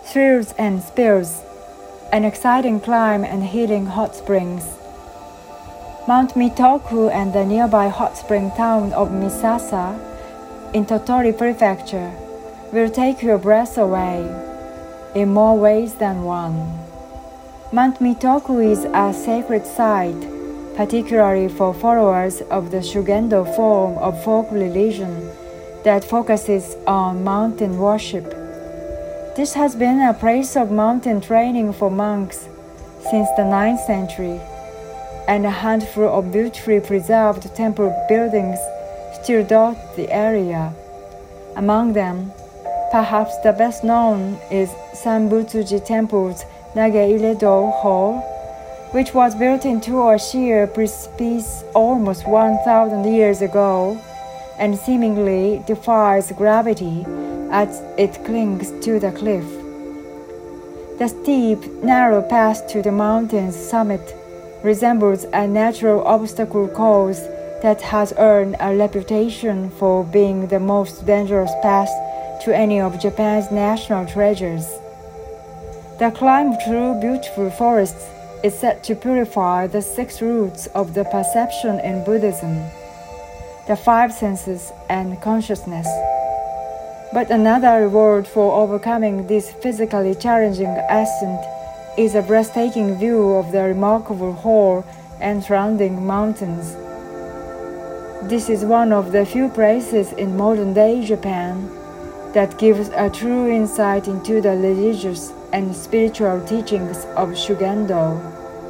thrills and spills, an exciting climb and healing hot springs. Mount Mitoku and the nearby hot spring town of Misasa in Tottori Prefecture will take your breath away in more ways than one. Mount Mitoku is a sacred site, particularly for followers of the Shugendo form of folk religion that focuses on mountain worship. This has been a place of mountain training for monks since the 9th century, and a handful of beautifully preserved temple buildings still dot the area. Among them, perhaps the best known is Sanbutsuji Temple's Nage-Ire-do Hall, which was built into a sheer precipice almost 1,000 years ago and seemingly defies gravity as it clings to the cliff. The steep, narrow path to the mountain's summit resembles a natural obstacle course that has earned a reputation for being the most dangerous path to any of Japan's national treasures. The climb through beautiful forests is said to purify the 6 roots of the perception in Buddhism, the 5 senses and consciousness. But another reward for overcoming this physically challenging ascent is a breathtaking view of the remarkable hall and surrounding mountains. This is one of the few places in modern-day Japan that gives a true insight into the religious and spiritual teachings of Shugendo.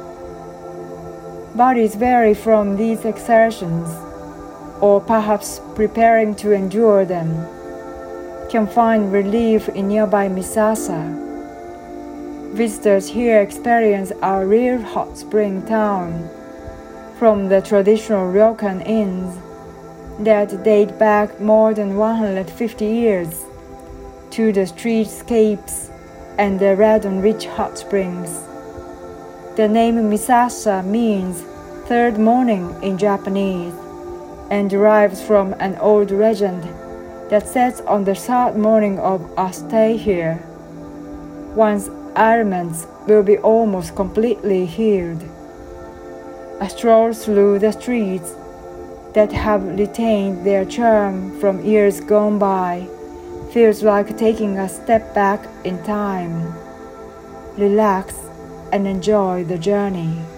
Bodies weary from these exertions, or perhaps preparing to endure them, can find relief in nearby Misasa. Visitors here experience a real hot spring town, from the traditional ryokan inns that date back more than 150 years, to the streetscapes and the red and rich hot springs. The name Misasa means third morning in Japanese and derives from an old legend that says on the third morning of a stay here, one's ailments will be almost completely healed. A stroll through the streets that have retained their charm from years gone by feels like taking a step back in time. Relax and enjoy the journey.